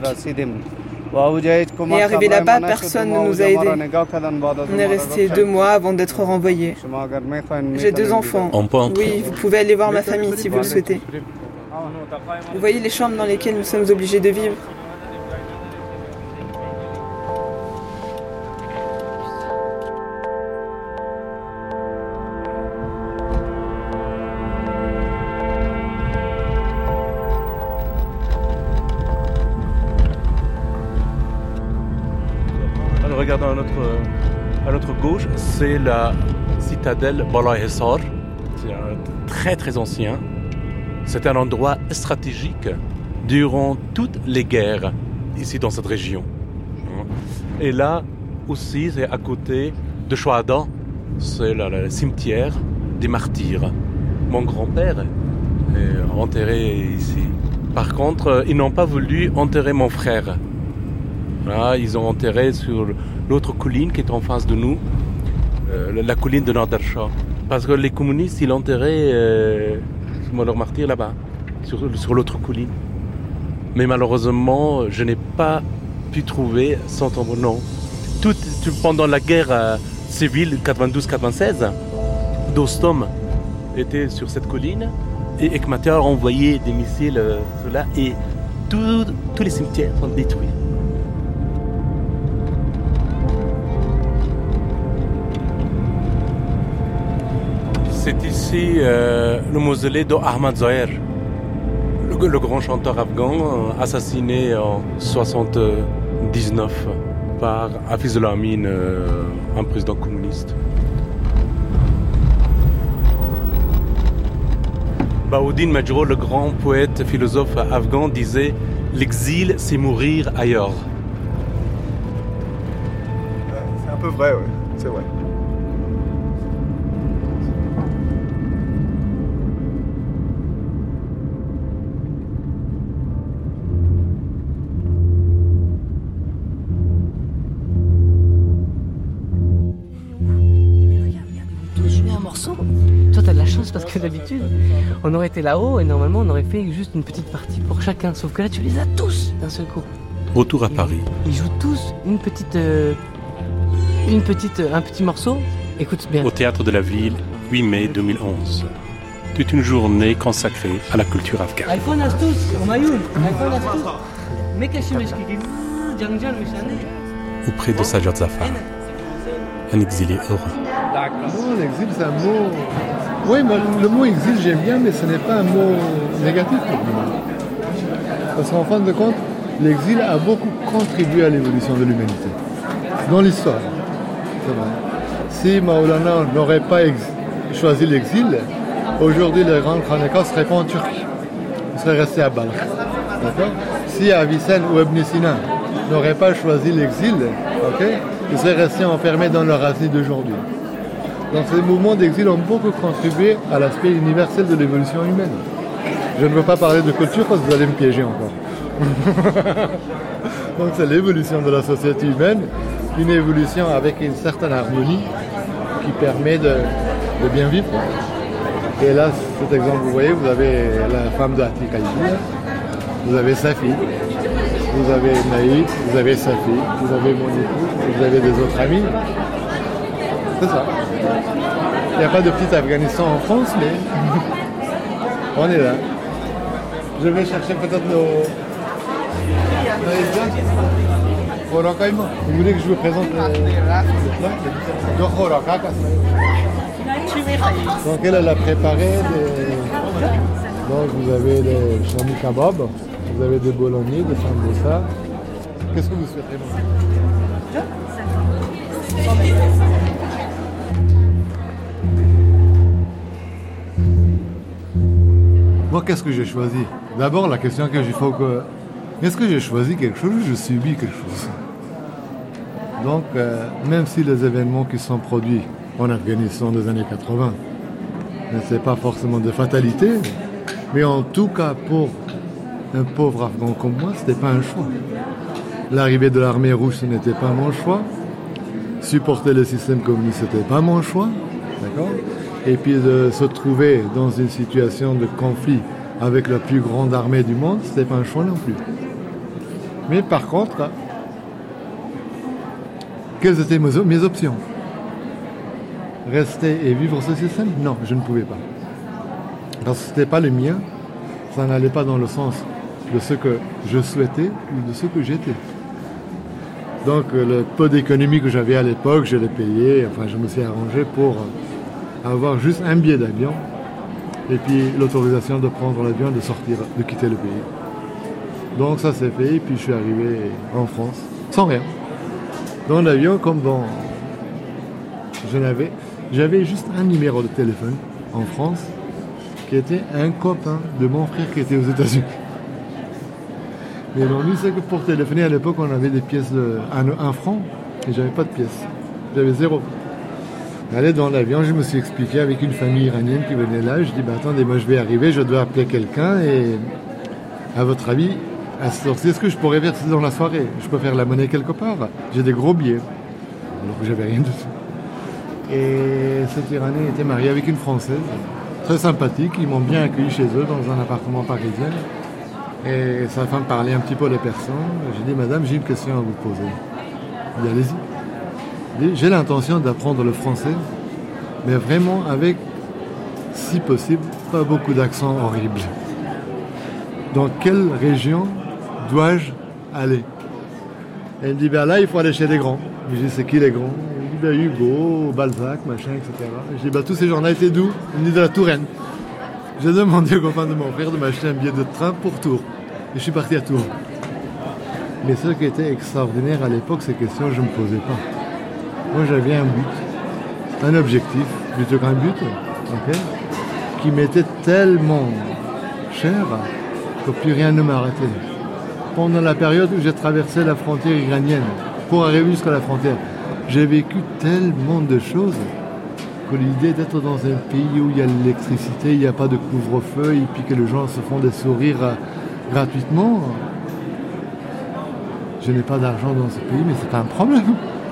Et arrivé là-bas, personne ne nous a aidés. On est resté 2 mois avant d'être renvoyés. J'ai 2 enfants. Oui, vous pouvez aller voir ma famille si vous le souhaitez. Vous voyez les chambres dans lesquelles nous sommes obligés de vivre? Regardons à notre gauche, c'est la citadelle Bala-Hissar. C'est très très ancien. C'est un endroit stratégique durant toutes les guerres ici dans cette région. Et là aussi, c'est à côté de Shuhada, c'est le cimetière des martyrs. Mon grand-père est enterré ici. Par contre, ils n'ont pas voulu enterrer mon frère. Là, ils ont enterré sur l'autre colline qui est en face de nous, la colline de Nader-Shah. Parce que les communistes, ils enterraient leurs martyrs là-bas, sur l'autre colline. Mais malheureusement, je n'ai pas pu trouver son tombeau. Non. Pendant la guerre civile 92-96, Dostom était sur cette colline et Ekmatia a envoyé des missiles là et tous les cimetières sont détruits. C'est ici le mausolée d'Ahmad Zahir, le grand chanteur afghan assassiné en 1979 par Hafizullah Amin, un président communiste. Bahouddin Majroh, le grand poète philosophe afghan, disait « L'exil, c'est mourir ailleurs ». C'est un peu vrai, oui, c'est vrai. Toi, t'as de la chance parce que d'habitude, on aurait été là-haut et normalement, on aurait fait juste une petite partie pour chacun. Sauf que là, tu les as tous d'un seul coup. Retour à Paris. Ils jouent tous un petit morceau Écoute bien. Au Théâtre de la Ville, 8 mai 2011. Toute une journée consacrée à la culture afghane. Auprès de Sajjad Zafar, un exilé heureux. Non, l'exil, c'est un mot... Oui, le mot exil, j'aime bien, mais ce n'est pas un mot négatif pour moi. Parce qu'en fin de compte, l'exil a beaucoup contribué à l'évolution de l'humanité. Dans l'histoire, c'est vrai. Si Maulana n'aurait pas choisi l'exil, aujourd'hui, le grand Khaneka serait pas en Turquie. Il serait resté à Balkh. D'accord ? Si Avicenne ou Ibn Sina n'auraient pas choisi l'exil, ils seraient restés enfermés dans leur asile d'aujourd'hui. Donc ces mouvements d'exil ont beaucoup contribué à l'aspect universel de l'évolution humaine. Je ne veux pas parler de culture parce que vous allez me piéger encore. Donc c'est l'évolution de la société humaine, une évolution avec une certaine harmonie qui permet de bien vivre. Et là, cet exemple, vous voyez, vous avez la femme de Atika ici, vous avez sa fille, vous avez Naïd, vous avez sa fille, vous avez mon époux, vous avez des autres amis. C'est ça. Il n'y a pas de petit Afghanistan en France, mais on est là. Je vais chercher peut-être nos Vous voulez que je vous présente le plat? Donc elle a préparé Donc vous avez des chami kebab, vous avez des bolognais, des sambosa. Qu'est-ce que vous souhaitez manger? Moi, qu'est-ce que j'ai choisi? D'abord, la question que j'ai faut que... Est-ce que j'ai choisi quelque chose ou je subis quelque chose? Donc, même si les événements qui sont produits en Afghanistan des années 80, ce n'est pas forcément de fatalité, mais en tout cas, pour un pauvre Afghan comme moi, ce n'était pas un choix. L'arrivée de l'armée rouge, ce n'était pas mon choix. Supporter le système communiste, ce n'était pas mon choix. D'accord ? Et puis de se trouver dans une situation de conflit avec la plus grande armée du monde, ce n'était pas un choix non plus. Mais par contre, quelles étaient mes options? Rester et vivre ce système? Non, je ne pouvais pas. Parce que ce n'était pas le mien, ça n'allait pas dans le sens de ce que je souhaitais ou de ce que j'étais. Donc le peu d'économie que j'avais à l'époque, je l'ai payé, enfin je me suis arrangé pour avoir juste un billet d'avion et puis l'autorisation de prendre l'avion et de sortir, de quitter le pays. Donc ça s'est fait et puis je suis arrivé en France sans rien. Dans l'avion comme dans... J'avais juste un numéro de téléphone en France qui était un copain de mon frère qui était aux États-Unis. Mais l'ennui c'est que pour téléphoner à l'époque on avait des pièces de 1 franc et j'avais pas de pièces. J'avais 0. Allez dans l'avion, je me suis expliqué avec une famille iranienne qui venait là. Je dis, attendez, moi je vais arriver, je dois appeler quelqu'un et à votre avis, à ce sortir, est-ce que je pourrais verser dans la soirée? Je peux faire la monnaie quelque part? J'ai des gros billets. Alors que j'avais rien de tout. Et cet Iranien était marié avec une Française, très sympathique. Ils m'ont bien accueilli chez eux dans un appartement parisien. Et sa femme parlait un petit peu les personnes. J'ai dit, madame, j'ai une question à vous poser. Il dit, allez-y. J'ai l'intention d'apprendre le français, mais vraiment avec, si possible, pas beaucoup d'accent horrible. Dans quelle région dois-je aller? Elle me dit, là, il faut aller chez les grands. Je dis, c'est qui les grands? Elle me dit, Hugo, Balzac, machin, etc. Je dis, tous ces gens-là étaient d'où? Elle me dit, de la Touraine. J'ai demandé au copain de mon frère de m'acheter un billet de train pour Tours. Et je suis parti à Tours. Mais ce qui était extraordinaire à l'époque, ces questions, je ne me posais pas. Moi, j'avais un but, un objectif, plutôt qu'un but, qui m'était tellement cher que plus rien ne m'arrêtait. Pendant la période où j'ai traversé la frontière iranienne, pour arriver jusqu'à la frontière, j'ai vécu tellement de choses que l'idée d'être dans un pays où il y a l'électricité, il n'y a pas de couvre-feu, et puis que les gens se font des sourires gratuitement, je n'ai pas d'argent dans ce pays, mais c'est pas un problème.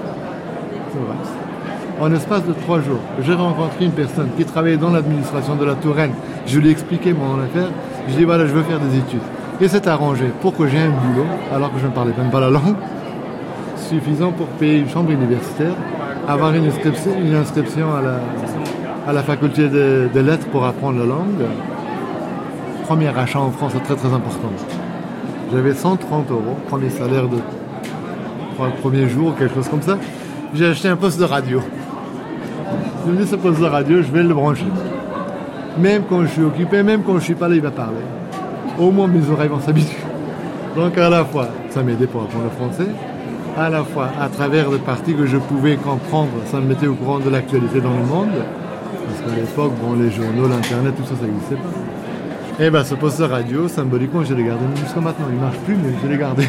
En l'espace de 3 jours, j'ai rencontré une personne qui travaillait dans l'administration de la Touraine. Je lui ai expliqué mon affaire. Je lui ai dit, voilà, je veux faire des études. Et c'est arrangé pour que j'ai un boulot, alors que je ne parlais même pas la langue, suffisant pour payer une chambre universitaire avoir une inscription à la faculté de lettres pour apprendre la langue. Premier achat en France, c'est très très important. J'avais 130 €, premier salaire pour le premier jour, quelque chose comme ça. J'ai acheté un poste de radio. Je me dis, ce poste de radio, je vais le brancher. Même quand je suis occupé, même quand je ne suis pas là, il va parler. Au moins, mes oreilles vont s'habituer. Donc, à la fois, ça m'aidait pour apprendre le français. À la fois, à travers des parties que je pouvais comprendre, ça me mettait au courant de l'actualité dans le monde. Parce qu'à l'époque, les journaux, l'Internet, tout ça, ça n'existait pas. Et bien, ce poste de radio, symboliquement, je l'ai gardé jusqu'à maintenant. Il ne marche plus, mais je l'ai gardé.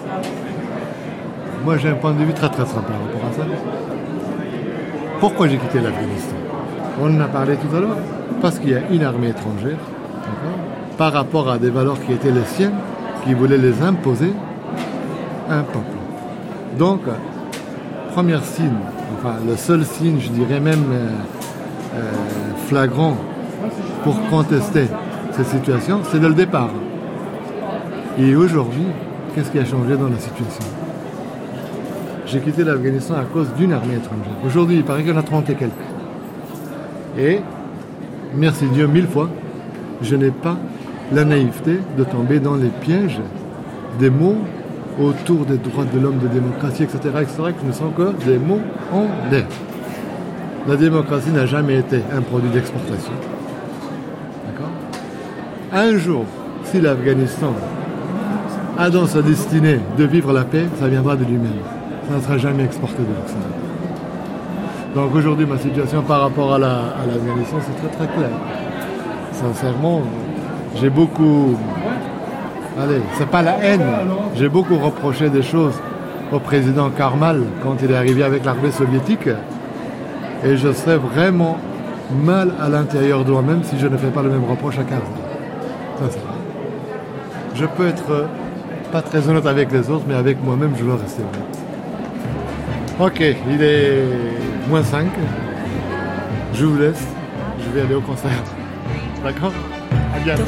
Moi, j'ai un point de vue très très simple par rapport à ça. Pourquoi j'ai quitté l'Afghanistan? On en a parlé tout à l'heure. Parce qu'il y a une armée étrangère, par rapport à des valeurs qui étaient les siennes, qui voulaient les imposer à un peuple. Donc, premier signe, enfin le seul signe, je dirais même flagrant pour contester cette situation, c'est dès le départ. Et aujourd'hui, qu'est-ce qui a changé dans la situation? J'ai quitté l'Afghanistan à cause d'une armée étrangère. Aujourd'hui, il paraît qu'il y en a 30 et quelques. Et, merci Dieu 1000 fois, je n'ai pas la naïveté de tomber dans les pièges des mots autour des droits de l'homme, de démocratie, etc., qui ne sont que des mots en l'air. La démocratie n'a jamais été un produit d'exportation. D'accord? Un jour, si l'Afghanistan a dans sa destinée de vivre la paix, ça viendra de lui-même. Ça ne sera jamais exporté de l'Occident. Donc aujourd'hui, ma situation par rapport à l'Afghanistan, c'est très très clair. Sincèrement, j'ai beaucoup... Allez, c'est pas la haine. J'ai beaucoup reproché des choses au président Karmal quand il est arrivé avec l'armée soviétique. Et je serais vraiment mal à l'intérieur de moi-même si je ne fais pas le même reproche à Karmal. Sincèrement. Je peux être pas très honnête avec les autres, mais avec moi-même, je dois rester honnête. Ok, il est -5. Je vous laisse. Je vais aller au concert. D'accord? À bientôt.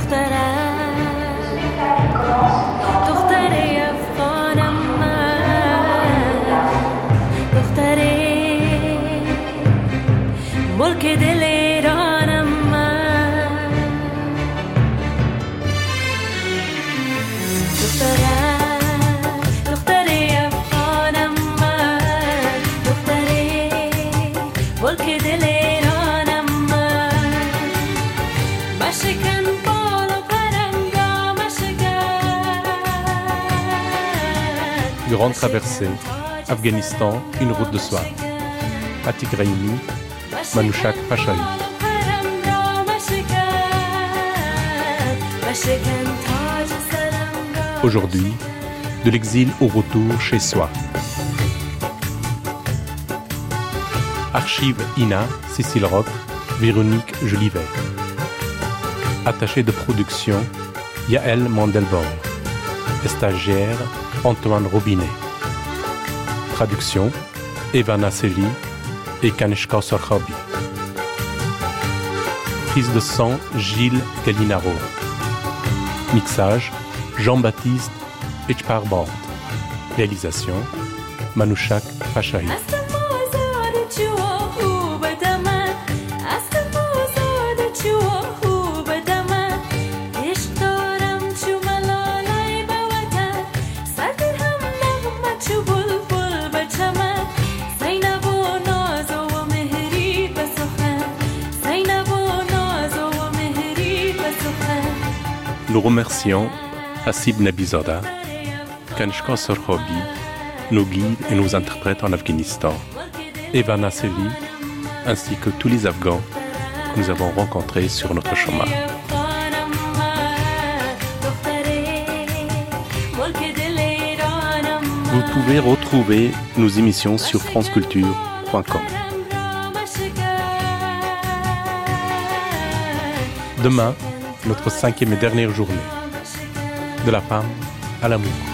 Grande traversée, Afghanistan, une route de soie. Atik Raimi, Manouchak Pachahi. Aujourd'hui, de l'exil au retour chez soi. Archive INA, Cécile Roch, Véronique Jolivet. Attaché de production, Yael Mandelbaum. Stagiaire, Antoine Robinet. Traduction, Ivana Seli et Kanishka Sorkhabi. Prise de son, Gilles Gallinaro. Mixage, Jean-Baptiste Echparband. Réalisation, Manouchak Pachahi. Nous remercions Hasib Nabizoda, Kanishka Sorkhabi, nos guides et nos interprètes en Afghanistan, Ivana Seli, ainsi que tous les Afghans que nous avons rencontrés sur notre chemin. Vous pouvez retrouver nos émissions sur franceculture.com. Demain, notre 5e et dernière journée. De la femme à l'amour.